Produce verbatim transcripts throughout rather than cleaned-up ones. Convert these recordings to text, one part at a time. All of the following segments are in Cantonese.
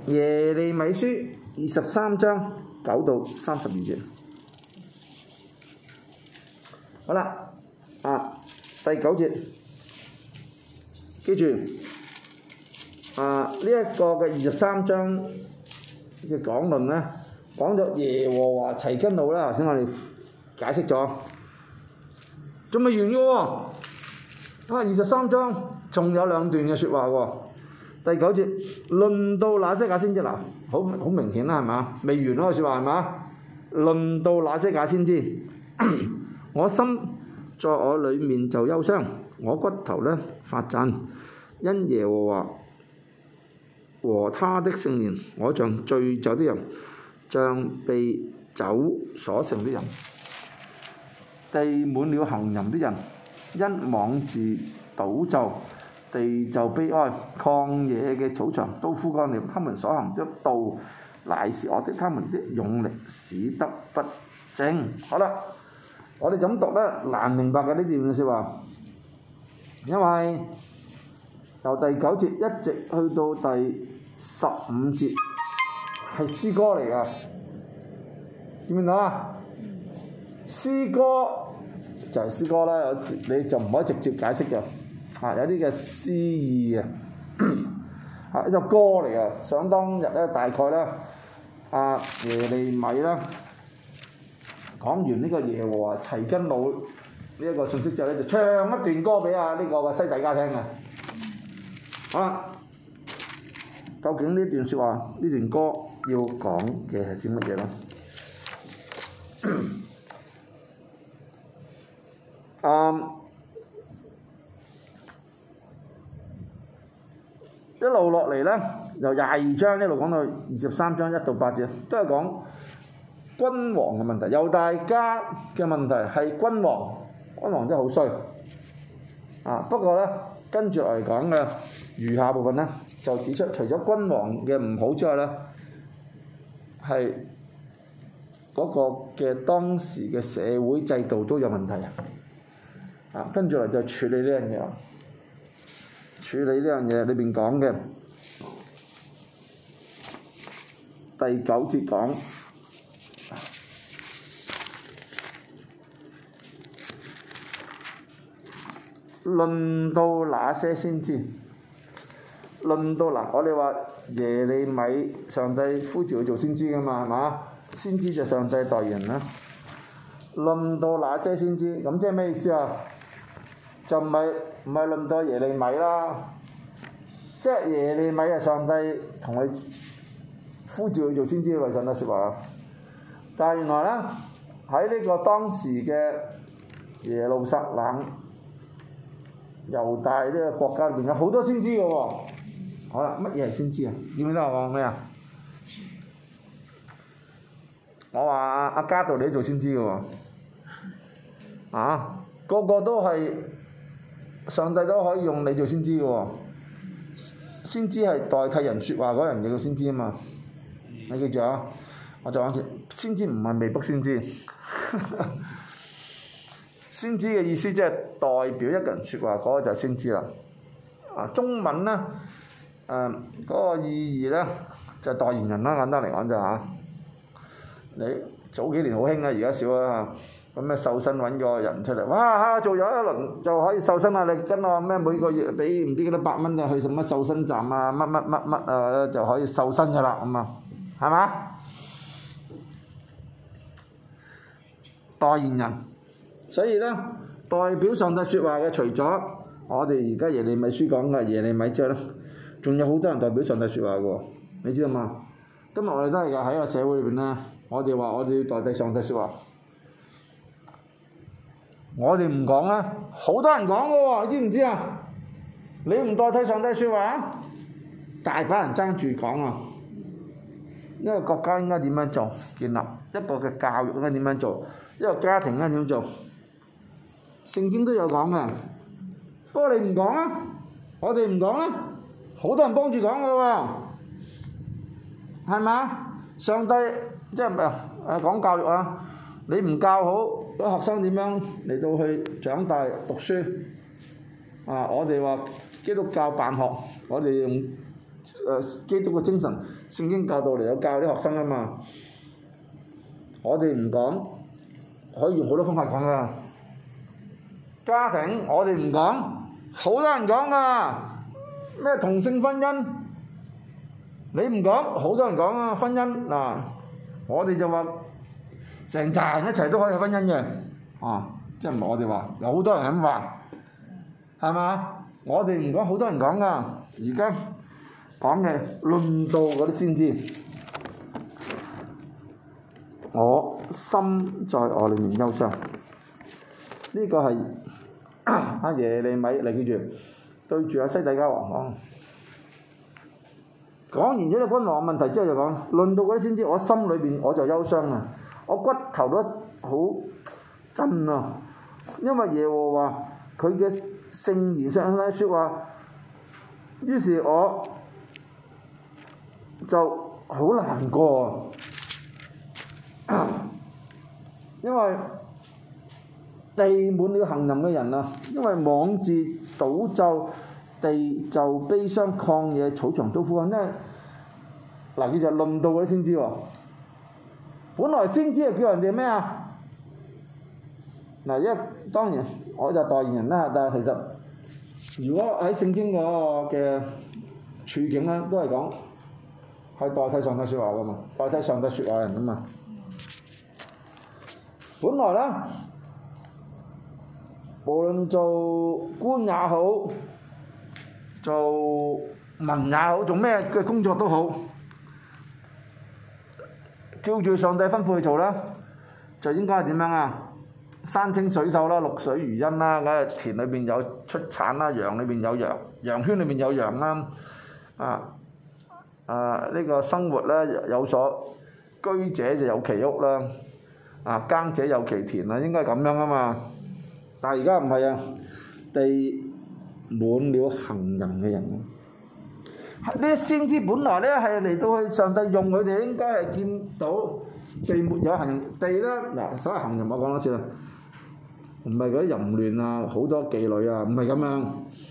耶利米書二十三章九到三十二節。好啦，啊，第九節，記住，啊呢一、這個嘅二十三章嘅講論咧，講咗耶和華齊根路啦。頭先我哋解釋咗，仲未完嘅喎。啊，二十三章仲有兩段嘅説話喎。第九節，論到那些假先知嗱，好好明顯啦，係嘛？未完嗰個説話係嘛？論到那些假先知，我心在我裏面就憂傷，我骨頭呢發震，因耶和華和他的聖年，我像醉酒的人，像被酒所勝的人，地滿了行淫的人，因妄自賭咒。地就悲哀，曠野嘅草場都枯乾了。他們所行的道乃是惡的，他們的勇力使得不正。好啦，我哋怎讀呢？難明白嘅呢段説話，因為由第九節一直去到第十五節係詩歌嚟㗎，見唔見到啊？詩歌就係詩歌啦，你就唔可以直接解釋嘅。啊，有啲嘅詩意嘅，啊一首歌嚟嘅。想當日咧，大概咧，啊耶利米啦講完呢個耶和華齊根路呢一個信息之後咧，就唱一段歌俾啊呢個嘅西底家聽嘅。好啦，究竟呢段説話呢段歌要講嘅係啲乜嘢咧？嗯。一路落嚟咧，由廿二章一路講到二十三章一到八節，都係講君王嘅問題。猶大家嘅問題係君王，君王真係好衰啊！不過咧，跟住嚟講嘅餘下部分咧，就指出除咗君王嘅唔好之外咧，係嗰個嘅當時嘅社會制度都有問題啊！跟住嚟就處理呢樣嘢。處理呢樣嘢裏邊講嘅第九節講，論到那些先知，論到嗱，我哋話耶利米上帝呼召佢做先知㗎嘛，係嘛？先知就上帝代言人啦。論到那些先知，咁即係咩意思啊？就唔係唔係論到耶利米啦，即係耶利米係上帝同佢呼召佢做先知為上帝説話。但係原來咧喺呢個當時嘅耶路撒冷、猶大呢個國家裏邊有好多先知嘅喎。好啦，乜嘢係先知啊？記唔記得我講咩啊？我話阿加道你做先知嘅喎，啊個個都係。上帝都可以用你做先知嘅喎，先知係代替人説話嗰人叫先知啊嘛，你記住啊！我再講一次，先知唔係未卜先知，先知嘅意思即係代表一個人説話，嗰、那個就係先知啦。啊，中文咧，誒、呃、嗰、那個意義咧就係、是、代言人啦，簡單嚟講就嚇、是。你早幾年好興啊，而家少啦。咁咩瘦身揾個人出嚟，哇！做咗一輪就可以瘦身啦！你跟我咩每個月俾唔知幾多百蚊就去什麼瘦身站啊，乜乜乜乜啊就可以瘦身㗎啦，咁啊，係嘛？代言人，所以咧代表上帝説話嘅，除咗我哋而家耶利米書講嘅耶利米之外咧，仲有好多人代表上帝説話嘅喎，你知道嘛？今日我哋都係㗎，喺個社會裏邊咧，我哋話我哋要代替上帝説話。我哋唔講啦，好多人講嘅喎，你知唔知啊？你唔代替上帝説話，大把人爭住講啊！一個國家應該點樣做？建立一個嘅教育應該點樣做？一個家庭應該點樣做？聖經都有講嘅，不過你唔講啊，我哋唔講啦，好多人幫住講嘅喎，係嘛？上帝即係唔係誒講教育啊？你唔教好，啲學生點樣嚟到去長大讀書？啊！我哋話基督教辦學，我哋用誒基督嘅精神，聖經教導嚟有教啲學生啊嘛。我哋唔講，可以用好多方法講噶。家庭我哋唔講，好多人講噶。咩同性婚姻，你唔講，好多人講啊。婚姻嗱，我哋就話成扎人一齊都可以係婚姻嘅，啊，即係唔係我哋話，有好多人咁話，係嘛？我哋唔講，好多人講噶。而家講嘅論到嗰啲先知，我心在我裏面憂傷。呢、這個係阿耶利米嚟記住，對住阿西底家王講。講完咗啲君王問題之後就講，論到嗰啲先知，我心裏邊我就憂傷啊，我骨頭都好震啊，因為耶和華佢嘅聖言上嘅説話，於是我就好難過啊，因為地滿了行淫嘅人啊，因為妄自賭咒，地就悲傷，曠野草場都枯乾。因為嗱，佢就論到嗰啲先知喎。本來先知係叫人哋咩啊？嗱，因為當然我就代言人啦，但係其實如果喺聖經嗰個嘅處境咧，都係講係代替上帝説話噶嘛，代替上帝説話人噶嘛。本來咧，無論做官也好，做民也好，做咩嘅工作都好，照住上帝吩咐去做啦，就應該係點樣啊？山清水秀啦，綠水如茵啦，嗰田裏邊有出產啦，羊裏邊有羊，羊圈裏邊有羊啦，啊啊呢個生活咧有所居者就有其屋啦，啊耕者有其田啦，應該係咁樣啊嘛。但係而家唔係啊，地滿了行淫嘅人。呢啲先知本來咧係嚟到去上帝用佢哋，應該係見到地沒有行淫，地咧嗱，所謂行淫我講多次啦，唔係嗰啲淫亂啊，好多妓女啊，唔係咁樣，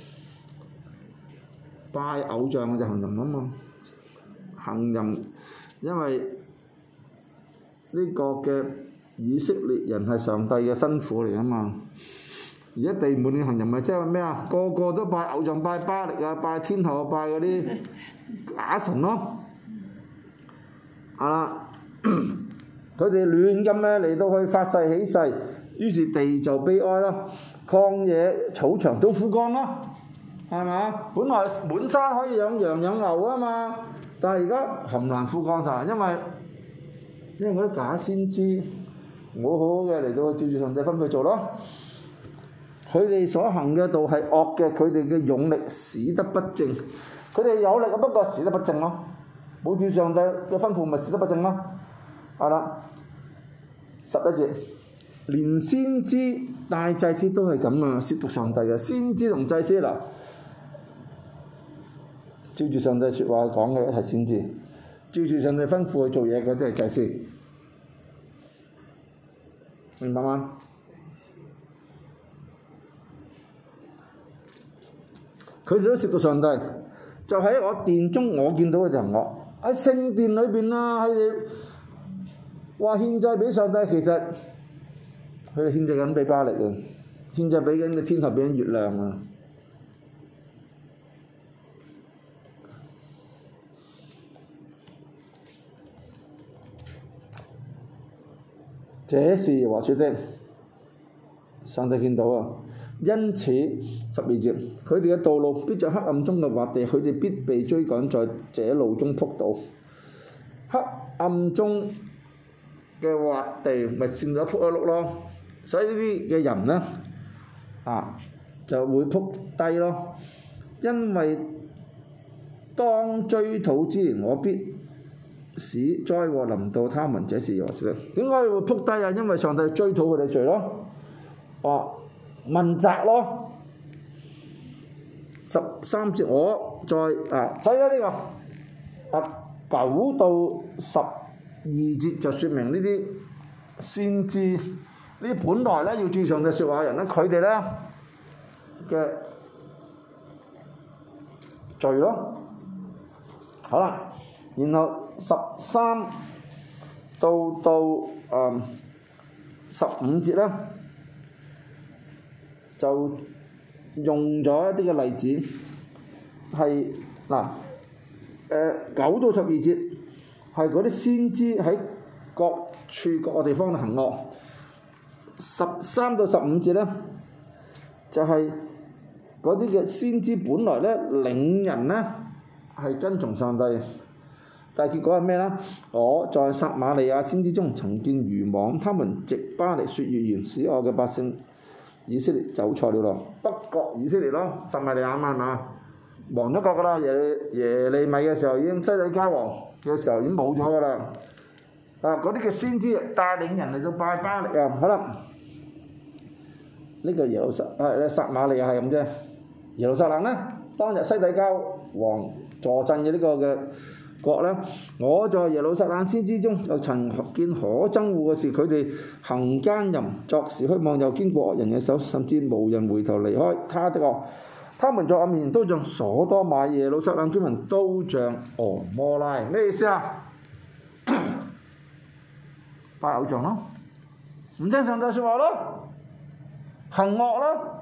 拜偶像就行淫啊嘛，行淫，因為呢個嘅以色列人係上帝嘅辛苦嚟啊嘛。而家地滿了行淫咪即係咩啊？個個都拜偶像，拜巴力啊，拜天后，拜嗰啲假神咯。係啦，佢哋亂咁咧嚟到去發誓起誓，於是地就悲哀啦，曠野草場都枯乾咯，係嘛？本來滿山可以養羊養牛啊嘛，但係而家冚唪唥枯乾晒，因為因為嗰啲假先知冇好好嘅嚟到去照住上帝吩咐做咯。佢哋所行嘅道係惡嘅，佢哋嘅勇力使得不正。佢哋有力啊，不過使得不正咯。冇照上帝嘅吩咐，咪使得不正咯。係啦，十一節，連先知大祭司都係咁啊，褻瀆上帝嘅先知同祭司嗱，照住上帝説話講嘅係先知，照住上帝吩咐去做嘢嗰啲係祭司，明白嗎？佢哋都褻瀆上帝，就喺我殿中我見到嘅就係我喺聖殿裏邊啦，佢哋話獻祭俾上帝，其實佢哋獻祭緊俾巴力啊，獻祭俾緊個天后，俾緊月亮啊。這是耶和華說的，上帝見到啊。因此十二節，佢哋嘅道路必在黑暗中嘅滑地，佢哋必被追趕，在這路中仆倒。黑暗中嘅滑地咪佔咗仆一碌咯，所以呢啲嘅人呢，啊就會仆低咯。因為當追討之年，我必使災禍臨到他們，這是耶和華說的。點解會仆低啊？因為上帝追討佢哋罪咯。哦。問責咯，十三節我再啊，所以咧呢個啊九到十二節就説明呢啲先知呢啲本來咧要注上帝説話嘅人咧，佢哋咧嘅罪咯， 好啦，然後十三到到誒十五節咧，就用咗一啲嘅例子，係嗱誒九到十二節係嗰啲先知喺各處各個地方行惡，十三到十五節咧就係嗰啲嘅先知本來咧領人咧係跟從上帝，但係結果係咩咧？我在撒瑪利亞先知中曾見愚妄，他們藉巴力說預言，使我嘅百姓以色列走錯了路。北國以色列咯，撒瑪利亞嘛係嘛？亡咗國噶啦，耶耶利米嘅時候已經西底家王嘅時候已經冇咗噶啦。啊，嗰啲嘅先知帶領人嚟到拜巴力啊，可能呢個耶路撒啊撒瑪利亞係咁啫。耶路撒冷咧，當日西底家王坐鎮嘅呢個嘅國咧，我在耶路撒冷先知中又曾見可憎惡嘅事，佢哋行奸淫，作事虛妄，又經過惡人嘅手，甚至無人回頭離開他的惡。他們在我面前都像所多瑪，耶路撒冷居民都像俄摩拉。咩意思啊？拜偶像咯，唔聽上帝説話咯，行惡咯。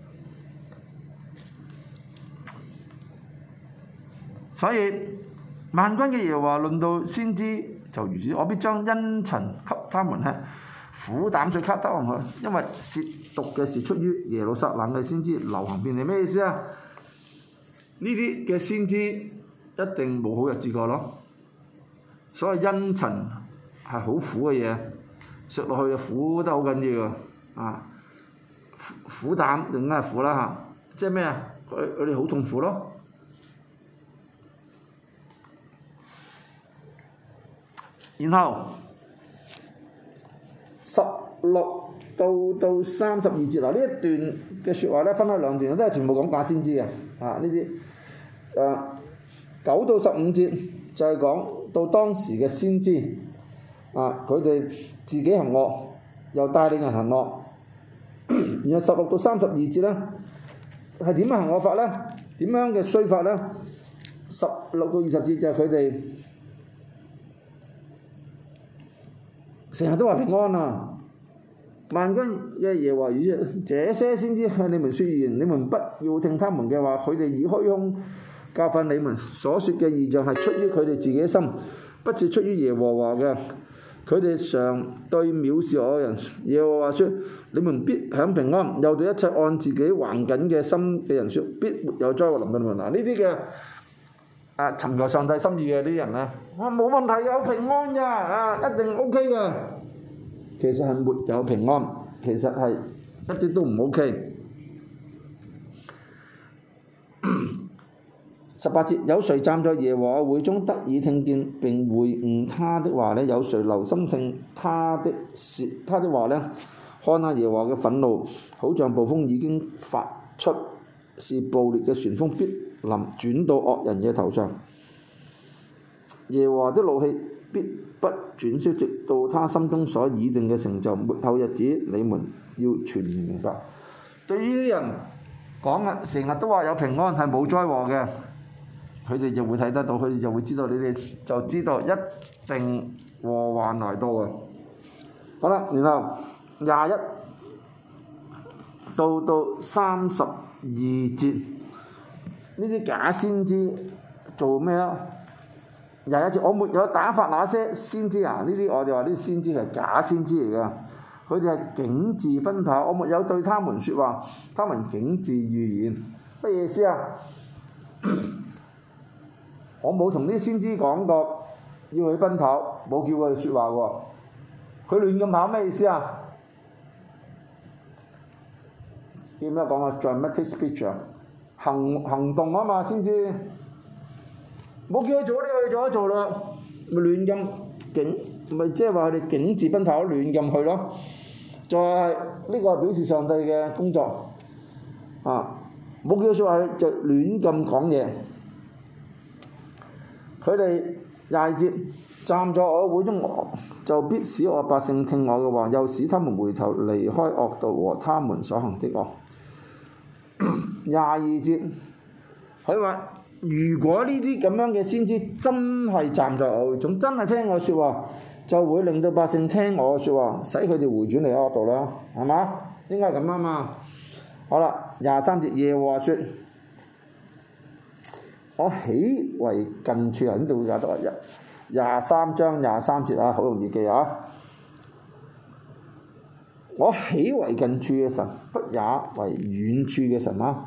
所以萬軍嘅耶和華論到先知就如此，我必將茵蔯給他們吃，苦膽水給他們喝，因為褻瀆嘅事出於耶路撒冷嘅先知流行遍地。咩意思啊？呢啲嘅先知一定冇好日子過咯。所謂茵蔯係好苦嘅嘢，食落去苦得好緊要啊！苦膽定係苦啦嚇，即係咩啊？佢佢哋好痛苦咯。然後十六到到三十二節嗱，呢一段嘅説話咧分開兩段，都係全部講假先知嘅啊！呢啲誒九到十五節就係講到當時嘅先知啊，佢哋自己行惡，又帶領人行惡。然後十六到三十二節咧係點樣行惡法咧？點樣嘅衰法咧？十六到二十節就係佢哋成日都話平安啊！萬軍嘅耶和華語說：這些先知向你們説預言，你們不要聽他們嘅話，佢哋以虛空教訓你們，所説嘅異象係出於佢哋自己嘅心，不是出於耶和華嘅。佢哋常對藐視我嘅人，耶和華說：你們必享平安。又對一切按自己還緊嘅心嘅人説：必沒有災禍臨到你們。嗱，呢啲嘅啊尋求上帝心意嘅啲人咧，啊冇問題，有平安㗎，啊一定 O K 嘅。其實係沒有平安，其實係一啲都唔 O K。十八節，有誰站在耶和華會中得以聽見並會悟他的話呢？有誰留心聽他的説他的話呢？看下耶和華嘅憤怒，好像暴風已經發出，是暴烈嘅旋風，必臨轉到惡人嘅頭上。耶和華的怒氣必不轉消，直到他心中所擬定嘅成就。末後日子，你們要全然明白。對於啲人講啊，成日都話有平安係冇災禍嘅，佢哋就會睇得到，佢哋就會知道，你哋就知道一定禍患來到嘅。好啦，然後廿一到到三十二節，呢啲假先知做咩啊？廿一節，我沒有打發那些先知啊！呢啲我哋話啲先知係假先知嚟㗎，佢哋係竟自奔跑，我沒有對他們説話，他們竟自預言。乜意思啊？我冇同啲先知講過要去奔跑，冇叫佢哋説話喎。佢亂咁跑咩意思啊？叫咩講啊 ？dramatic speech 啊，行行動啊嘛，先知冇叫佢做，你去做一做啦，咪亂咁竟，咪即係話佢哋竟自奔跑，亂咁去咯。就係呢個係表示上帝嘅工作啊！冇叫佢説話，就亂咁講嘢。佢哋廿二節站在我會中，就必使我百姓聽我嘅話，又使他們回頭離開惡道和他們所行的惡。廿二節佢話如果呢啲咁樣嘅先知真係站在我會中，真係聽我説話，就會令到百姓聽我嘅説話，使佢哋回轉嚟我度啦，係嘛？應該係咁啊嘛。好啦，廿三節耶和華說：我豈為近處啊？呢度會解讀啊，廿三章廿三節啊，好容易記啊！我豈為近處嘅神，不也為遠處嘅神啊？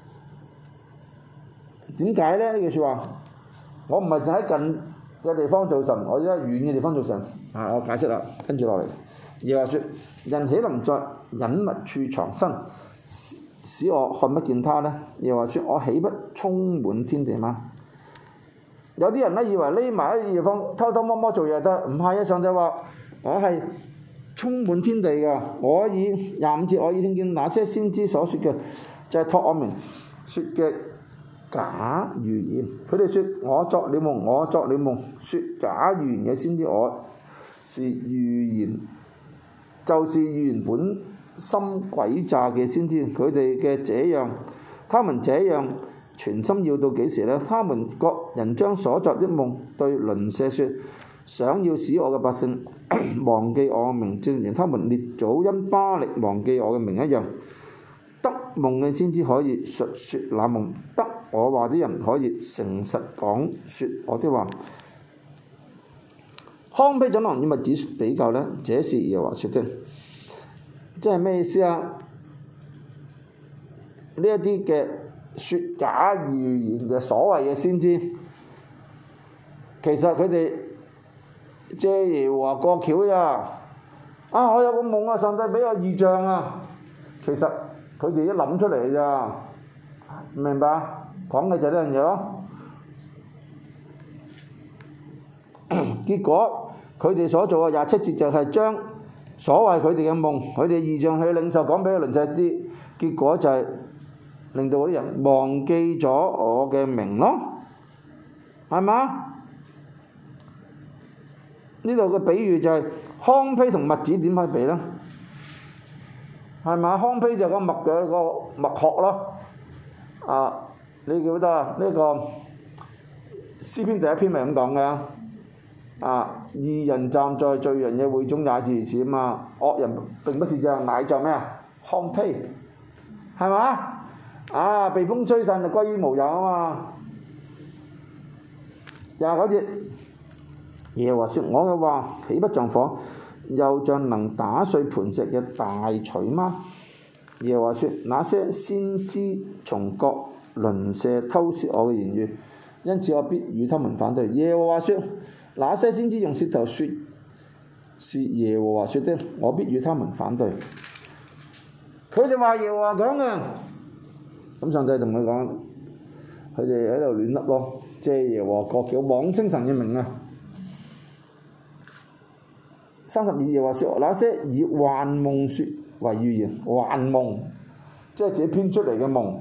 點解咧？呢句説話，我唔係就喺近嘅地方做神，我而家喺遠嘅地方做神。啊，我解釋啦，跟住落嚟，耶和華說：人豈能在隱密處藏身，使我看不見他呢？耶和華說：我豈不充滿天地嗎？有啲人咧以為匿埋喺地方偷偷摸摸做嘢得，唔係啊！上帝話我係充滿天地嘅。我以廿五節，我已聽見那些先知所說嘅，就係、是、託我名說嘅假預言。佢哋說我作了夢，我作了夢，說假預言嘅先知，我是預言，就是預言本心詭詐嘅先知。佢哋嘅這樣，他們這樣全心要到幾時呢？他們各人將所作的夢對鄰舍說，想要使我嘅百姓忘記我嘅名，正如他們列祖因巴力忘記我嘅名一樣。得夢嘅先知可以述說那夢，得我話啲人可以誠實講說我的話。糠秕怎能與麥子比較呢？這是耶和華說的。即係咩意思啊？呢一啲嘅説假預言嘅所謂嘅先知，其實佢哋借耶和華過橋咋？啊！我有個夢啊，上帝俾我異象啊。其實佢哋一諗出嚟咋，明白？講嘅就係呢樣嘢咯。結果佢哋所做嘅廿七節就係將所謂佢哋嘅夢、佢哋異象去領受講俾個鄰舍知，結果就係令到嗰啲人忘記咗我嘅名咯，係嘛？呢度嘅比喻就係糠秕同麥子點可以比呢？係嘛？糠秕就係個麥嘅個麥殼咯。啊，你記得啊？呢、這個詩篇第一篇咪咁講嘅。啊！義人站在罪人嘅會中也是如此啊嘛，惡人並不是這樣，乃在咩啊？糠秕，係嘛？啊！被風吹散就歸於無有啊嘛。廿九節，耶和華說：我嘅話豈不像火，又像能打碎磐石嘅大錘嗎？耶和華說：那些先知從各鄰舍偷竊我嘅言語，因此我必與他們反對。耶和華說：那些先知用舌頭說是耶和華說的，我必與他們反對。佢哋話耶和華講嘅，咁上帝同佢講，佢哋喺度亂笠咯，借耶和華過橋，妄稱神嘅名啊！三十二耶和華說：那些以幻夢說為預言，幻夢即係自己編出嚟嘅夢。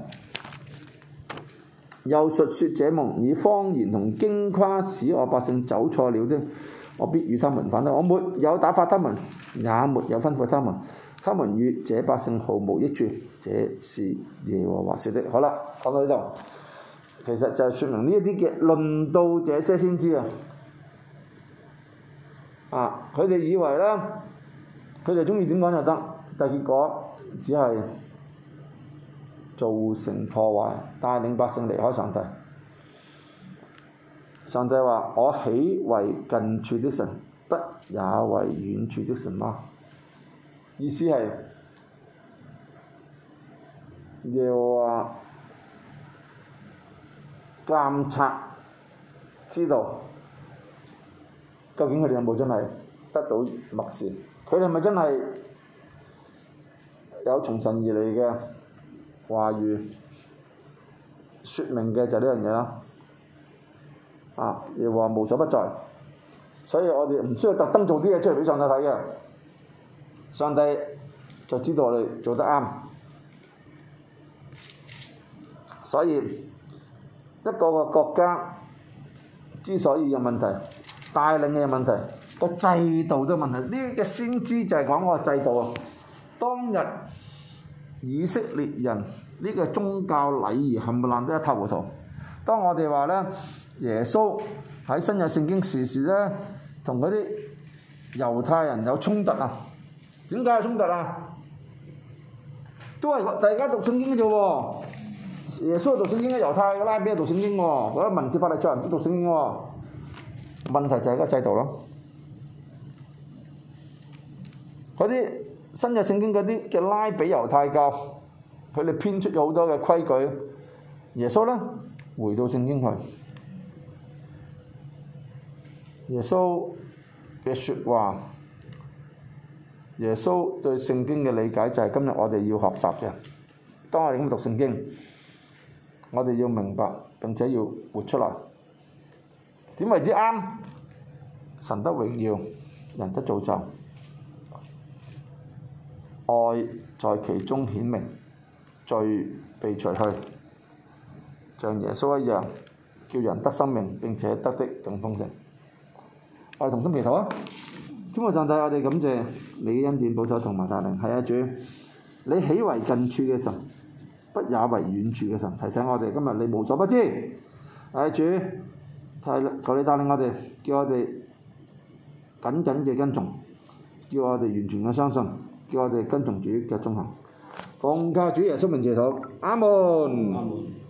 又述說這夢，以謊言同經誇使我百姓走錯了的，我必與他們反對。我沒有打發他們，也沒有吩咐他們，他們與這百姓毫無益處。這是耶和華說的。好啦，講到呢度，其實就係説明呢一啲嘅論到這些先知啊，啊，佢哋以為咧，佢哋中意點講就得，但結果只係造成破壞，帶領百姓離開上帝。上帝話：我豈為近處的神，不也為遠處的神嗎？意思係耶和華監察知道，究竟佢哋有冇真係得到默示？佢哋係咪真係有從神而嚟嘅話語説明嘅就係呢樣嘢啦，啊！耶和華無所不在，所以我哋唔需要特登做啲嘢出嚟俾上帝睇嘅，上帝就知道我哋做得啱。所以一個個國家之所以有問題，帶領嘅有問題，個制度都有問題。呢啲嘅先知就係講個制度啊，當日以色列人呢個宗教禮儀冚唪唥都一塌糊塗， 當我哋話咧，耶穌喺新約聖經時時咧，同嗰啲猶太人有衝突啊？點解有衝突啊？都係大家讀聖經嘅啫喎，耶穌讀聖經，猶太嘅拉比讀聖經喎，嗰啲文士法利賽人都讀聖經喎。問題就係個制度咯。嗰啲新約聖經嗰啲嘅拉比猶太教，佢哋編出咗好多嘅規矩。耶穌咧回到聖經去，耶穌嘅説話，耶穌對聖經嘅理解就係今日我哋要學習嘅。當我哋咁讀聖經，我哋要明白並且要活出來。點為之啱？神得榮耀，人得造就，愛在其中顯明，罪被除去，像耶穌一樣，叫人得生命並且得的更豐盛。我哋同心祈禱啊！天父上帝，我哋感謝你嘅恩典保守同埋帶領。係啊，主，你喜為近處嘅神，不也為遠處嘅神。提醒我哋今日你無所不知。係啊，主，求你帶領我哋，叫我哋緊緊嘅跟從，叫我哋完全嘅相信，叫我哋跟從主嘅蹤行。奉靠主耶穌名祈禱，阿門。